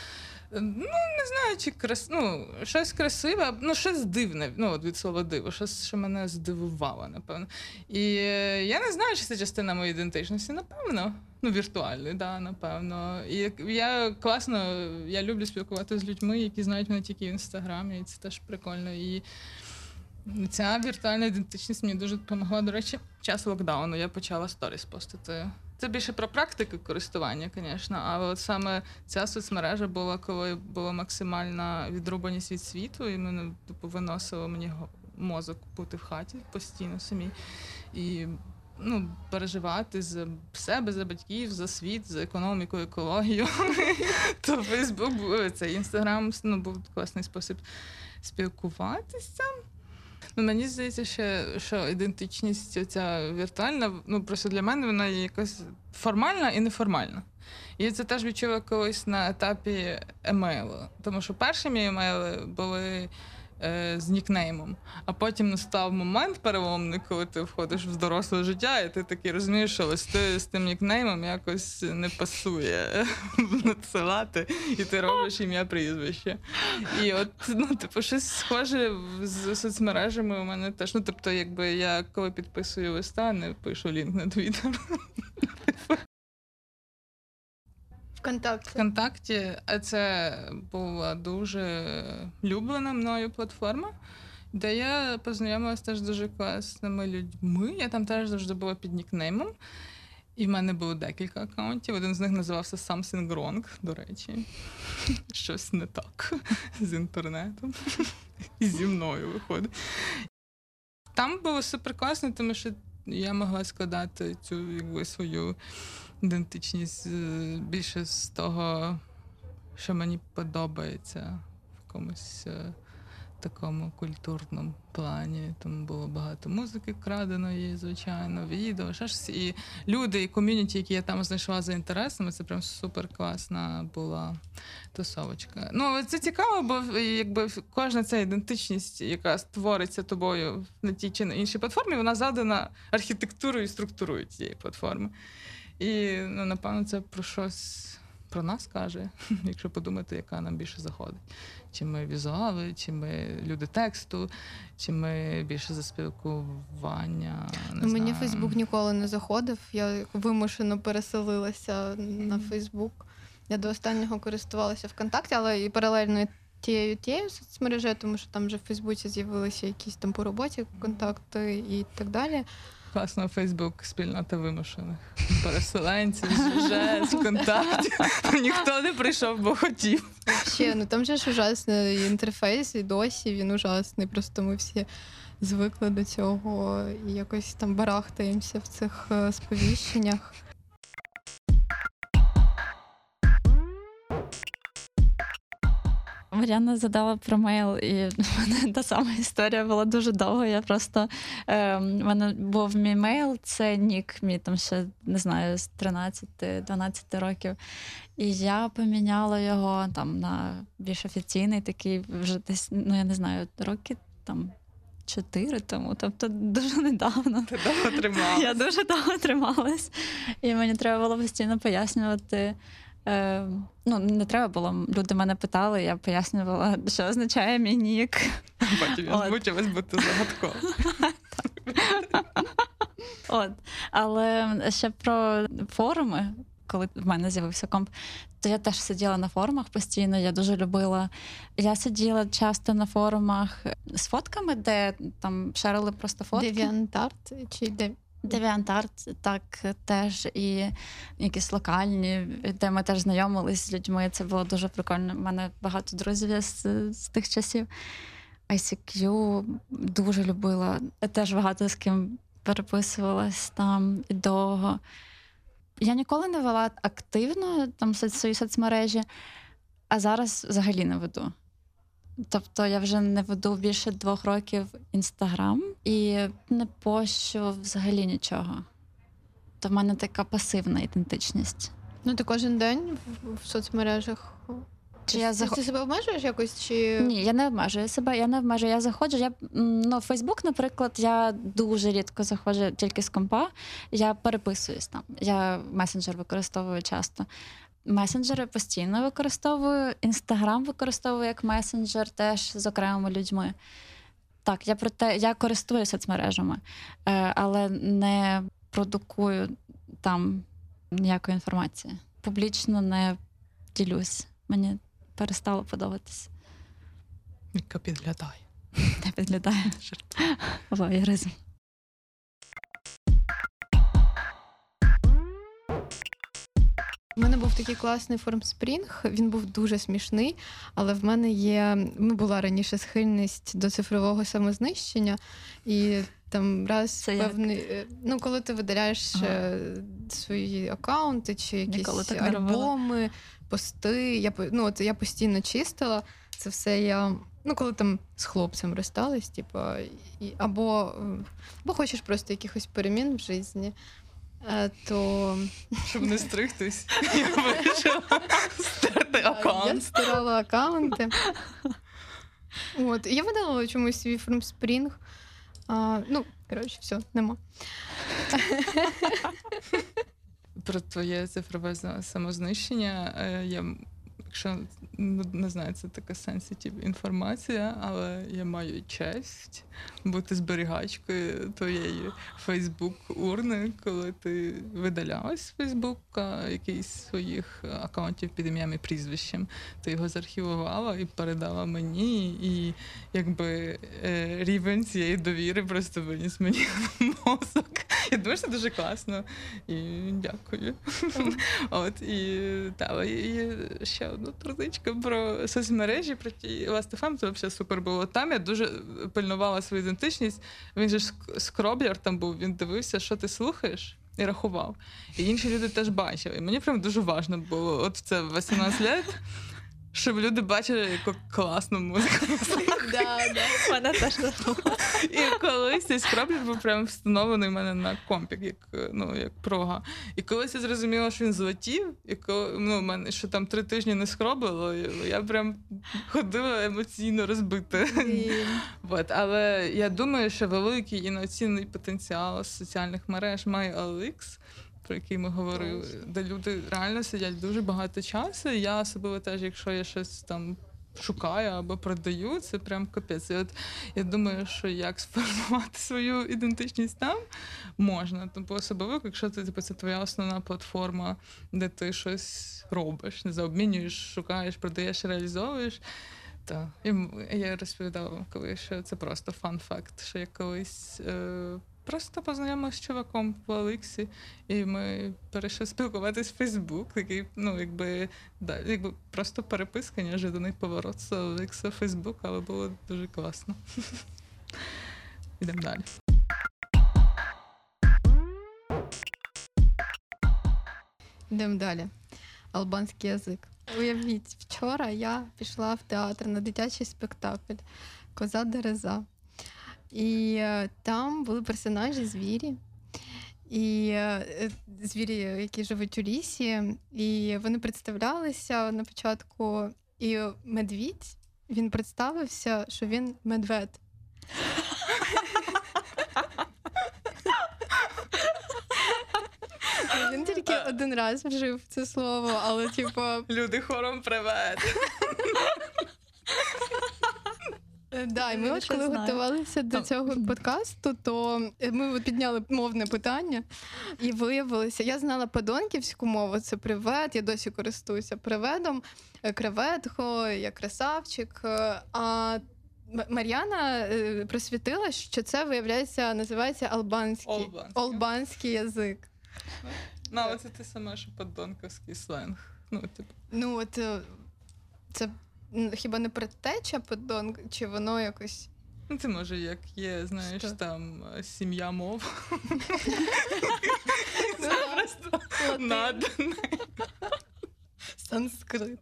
Speaker 3: Ну, не знаю, чи крас... ну, щось красиве, ну, щось дивне, ну, от від слова диво, щось, що мене здивувало, напевно. І е, я не знаю, чи це частина моєї ідентичності, напевно. Ну, віртуальної, да, напевно. І я класно, я люблю спілкуватися з людьми, які знають мене тільки в інстаграмі, і це теж прикольно. І ця віртуальна ідентичність мені дуже допомогла. До речі, в час локдауну я почала сторіс постити. Це більше про практику користування, звісно, але от саме ця соцмережа була, коли була максимальна відрубаність від світу, і мене типу, виносило мені мозок бути в хаті постійно самі. І ну, переживати за себе, за батьків, за світ, за економіку, екологію. То Фейсбук, це Інстаграм, ну, був класний спосіб спілкуватися. Ну, мені здається, ще, що ідентичність ця віртуальна, ну, просто для мене вона є якась формальна і неформальна. І це теж відчула колись на етапі емейлу. Тому що перші мої емейли були е, з нікнеймом, а потім настав момент переломний, коли ти входиш в доросле життя, і ти такий розумієш, що листи з тим нікнеймом якось не пасує надсилати, і ти робиш ім'я прізвище. І от, ну, типу, щось схоже з соцмережами у мене теж. Ну, тобто, якби я коли підписую листа, не пишу лінк на Твіттер.
Speaker 1: ВКонтакті.
Speaker 3: ВКонтакті, а це була дуже люблена мною платформа, де я познайомилася теж з дуже класними людьми. Я там теж завжди була під нікнеймом. І в мене було декілька акаунтів. Один з них називався Something Wrong, до речі. Щось не так з інтернетом. І зі мною виходить. Там було супер класно, тому що я могла складати цю якби, свою ідентичність більше з того, що мені подобається в якомусь такому культурному плані. Тому було багато музики краденої, звичайно, відео, ще щось. І люди, і ком'юніті, які я там знайшла за інтересами, це прям супер класна була тусовочка. Ну, це цікаво, бо якби кожна ця ідентичність, яка створиться тобою на тій чи на іншій платформі, вона задана архітектурою і структурою цієї платформи. І, ну, напевно, це про щось про нас каже, якщо подумати, яка нам більше заходить. Чи ми візуали, чи ми люди тексту, чи ми більше за спілкування, не
Speaker 1: ну,
Speaker 3: знаю.
Speaker 1: Мені Фейсбук ніколи не заходив, я вимушено переселилася на Фейсбук. Я до останнього користувалася ВКонтакті, але і паралельно тією тією соцмережею, тому що там вже в Фейсбуці з'явилися якісь там по роботі контакти і так далі.
Speaker 3: Класно, Фейсбук, спільнота вимушених переселенців, ЖЖ, з контактів. Ніхто не прийшов, бо хотів.
Speaker 1: Ще, ну там же ж ужасний інтерфейс, і досі він ужасний. Просто ми всі звикли до цього і якось там барахтаємося в цих сповіщеннях.
Speaker 2: Мар'яна задала про мейл, і в мене та сама історія була дуже довго. Я просто, е, в мене був мій мейл, це нік мій там ще, не знаю, з тринадцяти-дванадцяти років. І я поміняла його там на більш офіційний, такий вже десь, ну я не знаю, роки там чотири тому, тобто дуже недавно.
Speaker 3: Ти довго трималась.
Speaker 2: Я дуже довго трималась. І мені треба було постійно пояснювати. Е, ну, не треба було, люди мене питали, я пояснювала, що означає мій нік.
Speaker 3: Потім я змучилась бути загадково.
Speaker 2: От. Але ще про форуми, коли в мене з'явився комп, то я теж сиділа на форумах постійно, я дуже любила. Я сиділа часто на форумах з фотками, де там шерили просто фотки.
Speaker 1: DeviantArt чи де?
Speaker 2: DeviantArt, так, теж, і якісь локальні, де ми теж знайомились з людьми, це було дуже прикольно. У мене багато друзів з, з тих часів. ай сі к'ю дуже любила, теж багато з ким переписувалась там і довго. Я ніколи не вела активно там свої соцмережі, а зараз взагалі не веду. Тобто я вже не веду більше двох років Інстаграм і не пощу взагалі нічого. То в мене така пасивна ідентичність.
Speaker 1: Ну ти кожен день в, в соцмережах?
Speaker 2: Чи я зах...
Speaker 1: Ти себе обмежуєш якось? Чи...
Speaker 2: Ні, я не обмежую себе, я не обмежую. Я заходжу, я, ну, в Фейсбук, наприклад, я дуже рідко заходжу тільки з компа, я переписуюсь там. Я месенджер використовую часто. Месенджери постійно використовую, Інстаграм використовую як месенджер теж з окремими людьми. Так, я про те, я користуюся соцмережами, але не продукую там ніякої інформації. Публічно не ділюсь. Мені перестало подобатись.
Speaker 3: Яка підглядає.
Speaker 2: Не підглядає. Воєризм.
Speaker 1: У мене був такий класний формспрінг, він був дуже смішний, але в мене є, ну, була раніше схильність до цифрового самознищення, і там раз
Speaker 2: Це як?
Speaker 1: певний, ну, коли ти видаляєш
Speaker 2: Ага.
Speaker 1: свої акаунти чи якісь
Speaker 2: Ніколи так не робила.
Speaker 1: альбоми, пости, я, по- ну, от я постійно чистила, це все я, ну, коли там з хлопцем розстались, типу, і, або, або хочеш просто якихось перемін в житті, е, то...
Speaker 3: Щоб не стригтись, я вирішила стерти
Speaker 1: Я
Speaker 3: аккаунт.
Speaker 1: стирала аккаунти. От. І я видалила чомусь свій фрумспрінг. А, ну, коротше, все, нема.
Speaker 3: Про твоє цифрове за- самознищення. е, Я, м- якщо ну, не знаю, це така сенситив інформація, але я маю честь бути зберігачкою твоєї Фейсбук-урни, коли ти видалялась з Фейсбука якийсь своїх акаунтів під ім'ям і прізвищем. Ти його заархівувала і передала мені, і якби е, рівень цієї довіри просто виніс мені в мозок. Я думаю, що це дуже класно. І дякую. От, і та, і ще одну трудичку про соцмережі, про ті Last еф ем, це взагалі супер було. Там я дуже пильнувала свою ідентичність. Він же ж скроблер там був, він дивився, що ти слухаєш, і рахував. І інші люди теж бачили. І мені прям дуже важливо було, от в це вісімнадцять років, щоб люди бачили, яку класну музику.
Speaker 2: Мене теж не було.
Speaker 3: І колись цей скраблер був прям встановлений в мене на компік, як, ну, як прога. І колись я зрозуміла, що він злетів, і коли, ну, мене, що там три тижні не скроблило, і я прям ходила емоційно розбита. От, але я думаю, що великий і неоцінений потенціал соціальних мереж має о ел ікс, про який ми говорили, де люди реально сидять дуже багато часу. І я особливо теж, якщо я щось там шукаю або продаю, це прям капець. І от я думаю, що як сформувати свою ідентичність там можна. Тобто особливо, якщо це, типу, це твоя основна платформа, де ти щось робиш, не знаю, обмінюєш, шукаєш, продаєш, реалізовуєш. Так. І я розповідала вам колись, що це просто фан-факт, що я колись е, просто познайомилася з чуваком в Олексі, і ми перейшли спілкуватись в Фейсбук, який, ну, якби, да, якби просто переписка, неожиданний поворот з Олекса в Фейсбук, але було дуже класно. Ідемо далі.
Speaker 1: Йдемо далі. Албанський язик. Уявіть, вчора я пішла в театр на дитячий спектакль «Коза Дереза». І е, там були персонажі звірі. І е, звірі, які живуть у лісі, і вони представлялися на початку. І медвідь, він представився, що він медвед. Він тільки один раз вжив це слово, але типу.
Speaker 3: Люди хором привет!
Speaker 1: Да, і ми
Speaker 2: Я
Speaker 1: от
Speaker 2: ще
Speaker 1: коли
Speaker 2: знаю.
Speaker 1: готувалися до цього подкасту, то ми от підняли мовне питання і виявилося, я знала подонківську мову, це привет, я досі користуюся приведом, креветко, я красавчик, а М- Мар'яна е, просвітила, що це, виявляється, називається албанський,
Speaker 3: Олбанський.
Speaker 1: албанський язик.
Speaker 3: Ну, але це те саме, що подонковський сленг. Ну, типу.
Speaker 1: Ну, от е, це м, хіба не предтеча подонк, чи воно якось.
Speaker 3: Ну, це може, як є, знаєш,
Speaker 1: Що?
Speaker 3: там е, сім'я мов.
Speaker 1: Ну,
Speaker 3: Це просто
Speaker 1: латин.
Speaker 3: над.
Speaker 1: Санскрит.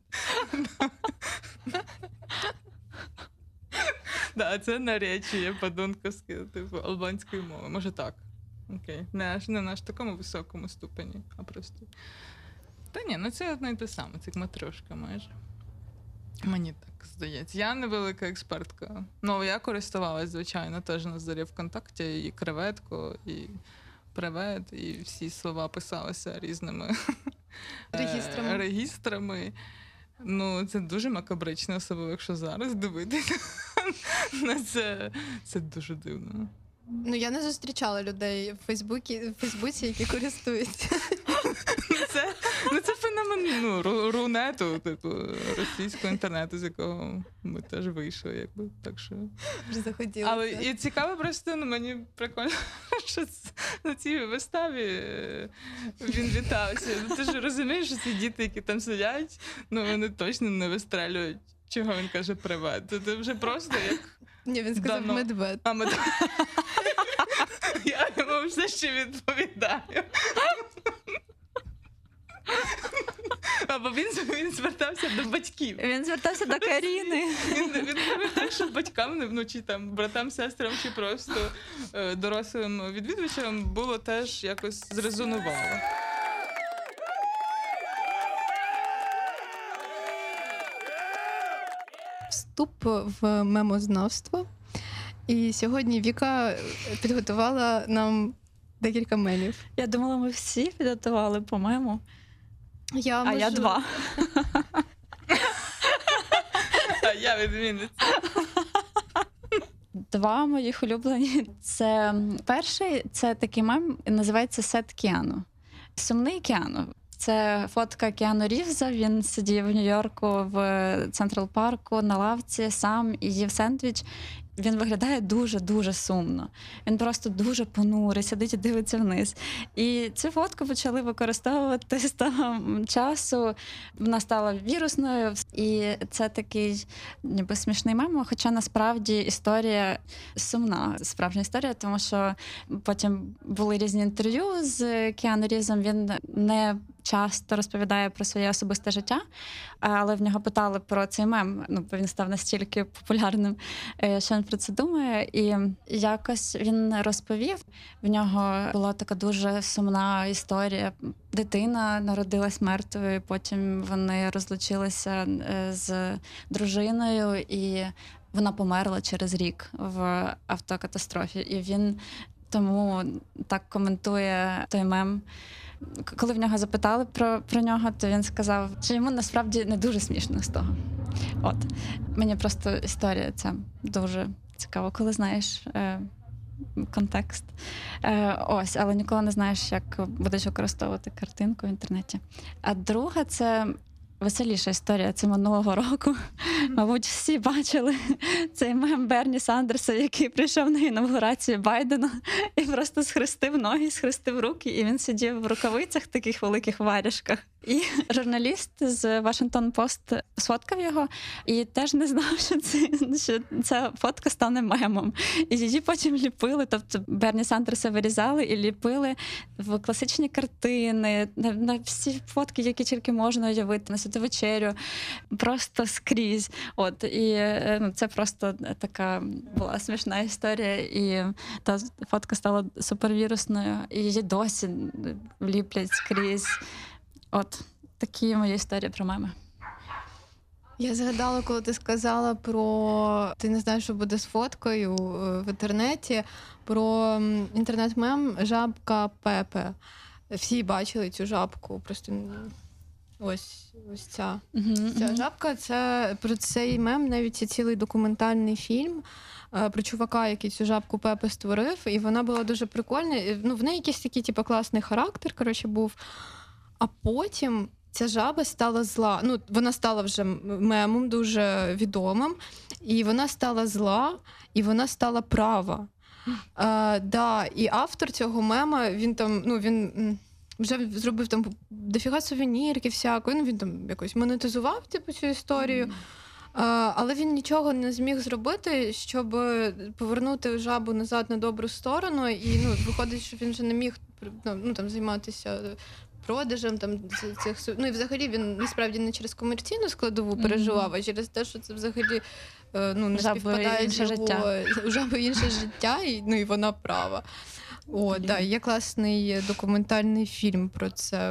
Speaker 3: Да, це наречіє подонковське, типу, албанської мови. Може так. Окей. Не аж не на аж такому високому ступені, а просто. Та ні, ну це одне й те саме, це як матрешка майже. Мені так здається. Я невелика експертка. Ну, я користувалась, звичайно, теж на зорі ВКонтакті, і креветко, і привет, і всі слова писалися різними е,
Speaker 1: Регістрами.
Speaker 3: регістрами. Ну, це дуже макабрично, особливо, якщо зараз дивитися на це. Це дуже дивно.
Speaker 1: Ну, я не зустрічала людей в Фейсбуці, в Фейсбуці, які користуються.
Speaker 3: Це, ну, це феномен ну, ру- рунету, типу, російського інтернету, з якого ми теж вийшли, якби, так що...
Speaker 1: Вже захотілося.
Speaker 3: Але і цікаво просто, ну, мені прикольно, що ц- на цій виставі е, він вітався. Ну, ти ж розумієш, що ці діти, які там сидять, ну, вони точно не вистрелюють, чого він каже привет. Це вже просто як...
Speaker 1: Ні, він сказав
Speaker 3: Давно.
Speaker 1: медвед.
Speaker 3: А ми... Я йому все ще відповідаю. Або він, він звертався до батьків.
Speaker 2: Він звертався до Каріни.
Speaker 3: Він, він робив так, щоб батькам, ну, чи там братам, сестрам, чи просто е, дорослим відвідувачам було теж якось зрезонувало.
Speaker 1: Вступ в мемознавство. І сьогодні Віка підготувала нам декілька мемів.
Speaker 2: Я думала, ми всі підготували по мему,
Speaker 1: Я
Speaker 2: а
Speaker 1: можу...
Speaker 2: я два.
Speaker 3: А я відмінниця.
Speaker 2: Два моїх улюблені. Це перший, це такий мем, називається «Сет Кіану». Сумний Кіану. Це фотка Кіану Рівза. Він сидів в Нью-Йорку в Централ Парку на лавці сам і їв сендвіч. Він виглядає дуже-дуже сумно. Він просто дуже понурий, сидить і дивиться вниз. І цю фотку почали використовувати з того часу. Вона стала вірусною. І це такий ніби смішний мем, хоча насправді історія сумна, справжня історія, тому що потім були різні інтерв'ю з Кіану Рівзом. Він не часто розповідає про своє особисте життя, але в нього питали про цей мем, ну, бо він став настільки популярним, що він про це думає. І якось він розповів, в нього була така дуже сумна історія. Дитина народилась мертвою, потім вони розлучилися з дружиною, і вона померла через рік в автокатастрофі. І він тому так коментує той мем. Коли в нього запитали про, про нього, то він сказав, що йому насправді не дуже смішно з того. От. Мені просто історія ця дуже цікава, коли знаєш е, контекст. Е, ось, але ніколи не знаєш, як будеш використовувати картинку в інтернеті. А друга – це веселіша історія. Це минулого року. Мабуть, всі бачили цей мем Берні Сандерса, який прийшов на інавгурацію Байдена і просто схрестив ноги, схрестив руки, і він сидів в рукавицях, таких великих варяжках. І журналіст з Washington Post сфоткав його і теж не знав, що, це, що ця фотка стане мемом. І її потім ліпили, тобто Берні Сандерса вирізали і ліпили в класичні картини, на, на всі фотки, які тільки можна уявити, на святу вечерю, просто скрізь. От, і ну, це просто така була смішна історія, і та фотка стала супервірусною, і її досі ліплять скрізь. От, такі мої історії про меми.
Speaker 1: Я згадала, коли ти сказала про... Ти не знаєш, що буде з фоткою в інтернеті, про інтернет-мем «Жабка Пепе». Всі бачили цю жабку, просто ось, ось ця.
Speaker 2: Uh-huh,
Speaker 1: Ця
Speaker 2: uh-huh.
Speaker 1: жабка, це про цей мем навіть є цілий документальний фільм про чувака, який цю жабку Пепе створив, і вона була дуже прикольна. Ну, в неї якийсь такий, типу, класний характер, коротше, був. А потім ця жаба стала зла. Ну, вона стала вже мемом дуже відомим, і вона стала зла, і вона стала права. А, да, і автор цього мема, він там, ну, він вже зробив там дофіга сувенірки всякої, ну, він там якось монетизував, типу, цю історію. Mm. А, але він нічого не зміг зробити, щоб повернути жабу назад на добру сторону, і, ну, виходить, що він вже не міг, ну, там, займатися продажем там цих, ну і взагалі він насправді не через комерційну складову переживав, а через те, що це взагалі ну не співпадає з його жаби інше життя, і ну і вона права. О, да, є класний документальний фільм про це.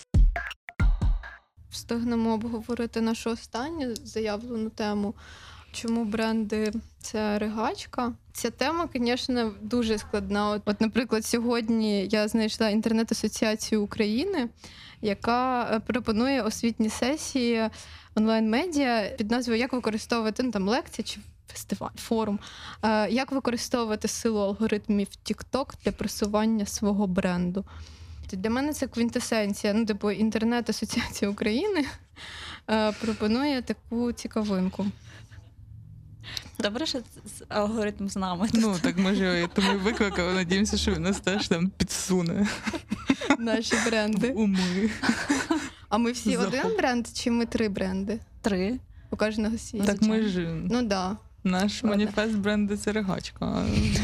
Speaker 1: Встигнемо обговорити нашу останню заявлену тему. чому бренди – це ригачка? Ця тема, звісно, дуже складна. От, от, наприклад, сьогодні я знайшла інтернет-асоціацію України, яка пропонує освітні сесії онлайн-медіа під назвою «Як використовувати», ну, там, лекція чи фестиваль, форум, е, як використовувати силу алгоритмів TikTok для просування свого бренду. Для мене це квінтесенція, ну, типу, інтернет-асоціація України е, пропонує таку цікавинку.
Speaker 2: Добре, що алгоритм з нами.
Speaker 3: Ну, так ми ж його тому і викликали, надіємося, що він нас теж там підсуне.
Speaker 1: Наші бренди.
Speaker 3: В уми.
Speaker 1: А ми всі
Speaker 3: Захоп.
Speaker 1: один бренд, чи ми три бренди?
Speaker 2: Три.
Speaker 1: У кожного свій.
Speaker 3: Так ми ж...
Speaker 1: Ну, да.
Speaker 3: Наш
Speaker 1: Ладно.
Speaker 3: маніфест бренду – це ригачка.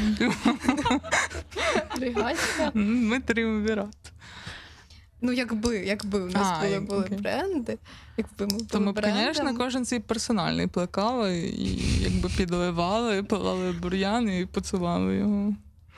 Speaker 1: Ригачка.
Speaker 3: Ми тріумвірат.
Speaker 1: Ну, якби, якби у нас
Speaker 3: А,
Speaker 1: були,
Speaker 3: як-
Speaker 1: були
Speaker 3: окей.
Speaker 1: бренди, якби ми були
Speaker 3: То ми б,
Speaker 1: брендом.
Speaker 3: звісно, кожен свій персональний плекали і якби підливали, пилали бур'ян і поцілали його.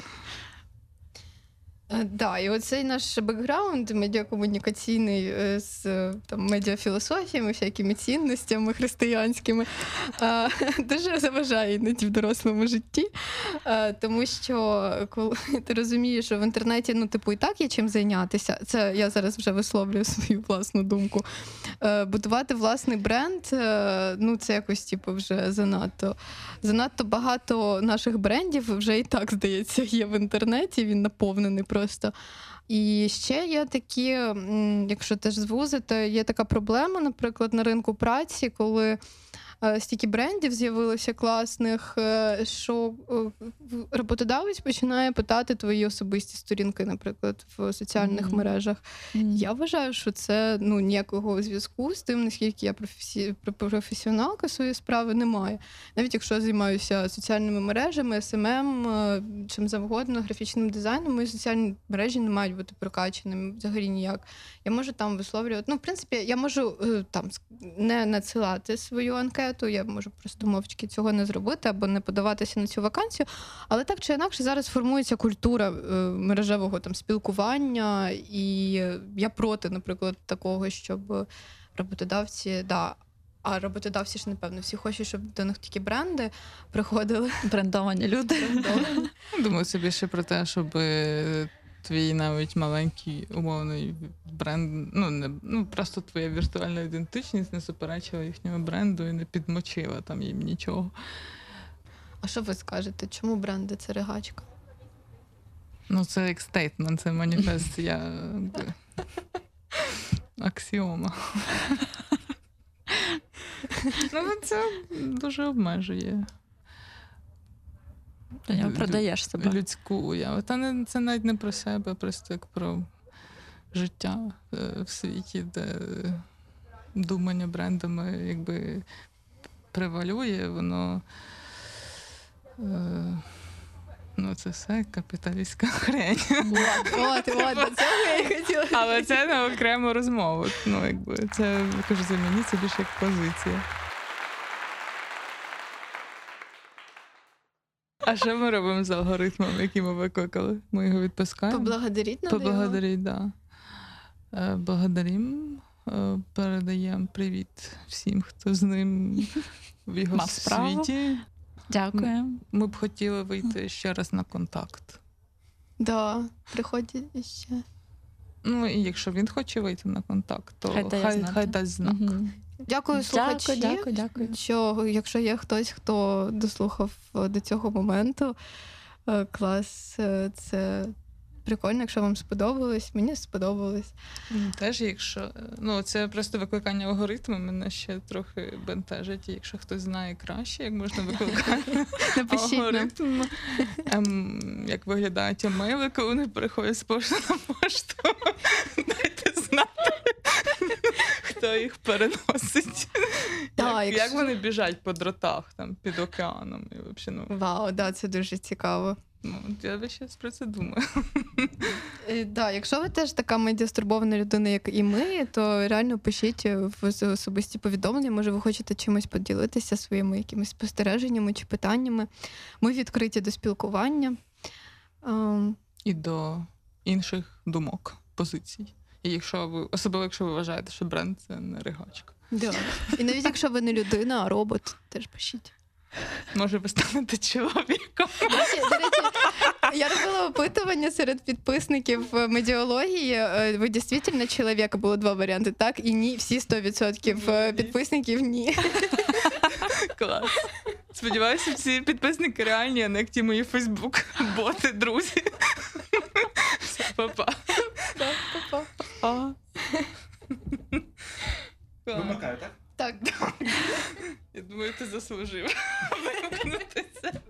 Speaker 1: Так, да, і оцей наш бекграунд медіакомунікаційний е, з е, там, медіафілософіями, всякими цінностями християнськими, е, дуже заважає іноді в дорослому житті. Е, Тому що коли ти розумієш, що в інтернеті, ну, типу, і так є чим зайнятися, це я зараз вже висловлюю свою власну думку. Е, Будувати власний бренд, е, ну, це якось, типу, вже занадто. Занадто багато наших брендів вже і так, здається, є в інтернеті, він наповнений просто. І ще є такі, м, якщо теж звузити, є така проблема, наприклад, на ринку праці, коли е, стільки брендів з'явилося класних, е, що е, роботодавець починає питати твої особисті сторінки, наприклад, в соціальних
Speaker 2: Мгм.
Speaker 1: мережах.
Speaker 2: Мгм.
Speaker 1: Я вважаю, що це, ну, ніякого зв'язку з тим, наскільки я професі... професіоналка своєї справи, немає. Навіть якщо я займаюся соціальними мережами, ес ем ем, е, чим завгодно, графічним дизайном, мої соціальні мережі не мають бути прокачаними взагалі ніяк. Я можу там висловлювати, ну, в принципі, я можу е, там ск- не надсилати свою анкету, я можу просто мовчки цього не зробити або не подаватися на цю вакансію, але так чи інакше зараз формується культура е, мережевого там спілкування, і я проти, наприклад, такого, щоб роботодавці, да, а роботодавці ж, напевно, всі хочуть, щоб до них такі бренди приходили.
Speaker 2: Брендовані люди.
Speaker 1: брендовані.
Speaker 3: Думаю собі ще про те, щоб е, твій навіть маленький умовний бренд, ну, не, ну просто твоя віртуальна ідентичність не суперечила їхньому бренду і не підмочила там їм нічого.
Speaker 1: А що ви скажете? Чому бренди це ригачка?
Speaker 3: Ну, це як стейтмент, це маніфест, я якби, аксіома. Ну, це дуже обмежує
Speaker 2: Ти не продаєш себе.
Speaker 3: людську уяву. Та не, це навіть не про себе, а просто як про життя е, в світі, де думання брендами якби превалює, воно е, ну це все капіталістська хрень.
Speaker 1: От, от, до цього я і хотіла.
Speaker 3: Але це на окрему розмову. Ну, якби це, кажу, за мені це більше як позиція. А що ми робимо з алгоритмом, який ми викликали? Ми його відпускаємо?
Speaker 1: Поблагодаріть надо його.
Speaker 3: Поблагодарить, да. Е, Благодарим, е, передаємо привіт всім, хто з ним в його
Speaker 2: Мав справу.
Speaker 3: світі.
Speaker 2: Дякую.
Speaker 3: Ми б хотіли вийти ще раз на контакт.
Speaker 1: Да, приходять ще.
Speaker 3: Ну, і якщо він хоче вийти на контакт, то
Speaker 2: Хай
Speaker 3: хай,
Speaker 2: дає
Speaker 3: хай,
Speaker 2: знати.
Speaker 3: дасть знак.
Speaker 2: Мгм.
Speaker 1: Дякую, слухачі.
Speaker 2: Дякую, дякую, дякую.
Speaker 1: Що, якщо є хтось, хто дослухав е, до цього моменту, е, клас, е, це прикольно, якщо вам сподобалось, мені сподобалось.
Speaker 3: Теж, якщо ну це просто викликання алгоритму, мене ще трохи бентежить. І якщо хтось знає краще, як можна викликати
Speaker 1: Напишіть нам.
Speaker 3: алгоритм, ем, як виглядають емейли, коли вони переходять з пошти на пошту, дайте знати, хто їх переносить.
Speaker 1: Да,
Speaker 3: як,
Speaker 1: якщо-
Speaker 3: як вони біжать по дротах там під океаном. І, взагалі, ну,
Speaker 1: Вау, да, це дуже цікаво.
Speaker 3: ну, я весь час про це думаю.
Speaker 1: Е, Да, якщо ви теж така медіастурбована людина, як і ми, то реально пишіть в особисті повідомлення. Може, ви хочете чимось поділитися своїми якимись спостереженнями чи питаннями. Ми відкриті до спілкування. Ем,
Speaker 3: І до інших думок, позицій. І якщо ви, особливо якщо ви вважаєте, що бренд це не ригачка.
Speaker 1: да. І навіть якщо ви не людина, а робот, теж пишіть.
Speaker 3: Може, ви станете чоловіком.
Speaker 1: До речі, до речі, я робила опитування серед підписників медіології. Ви дійсно чоловік? Було два варіанти, так і ні. Всі сто відсотків підписників ні.
Speaker 3: Клас. Сподіваюся, всі підписники реальні, а не як ті мої Фейсбук-боти, друзі. Все, па-па.
Speaker 1: Па-па.
Speaker 5: Вимикаю, так?
Speaker 1: Так.
Speaker 3: Я думаю, ти заслужив вимкнути це.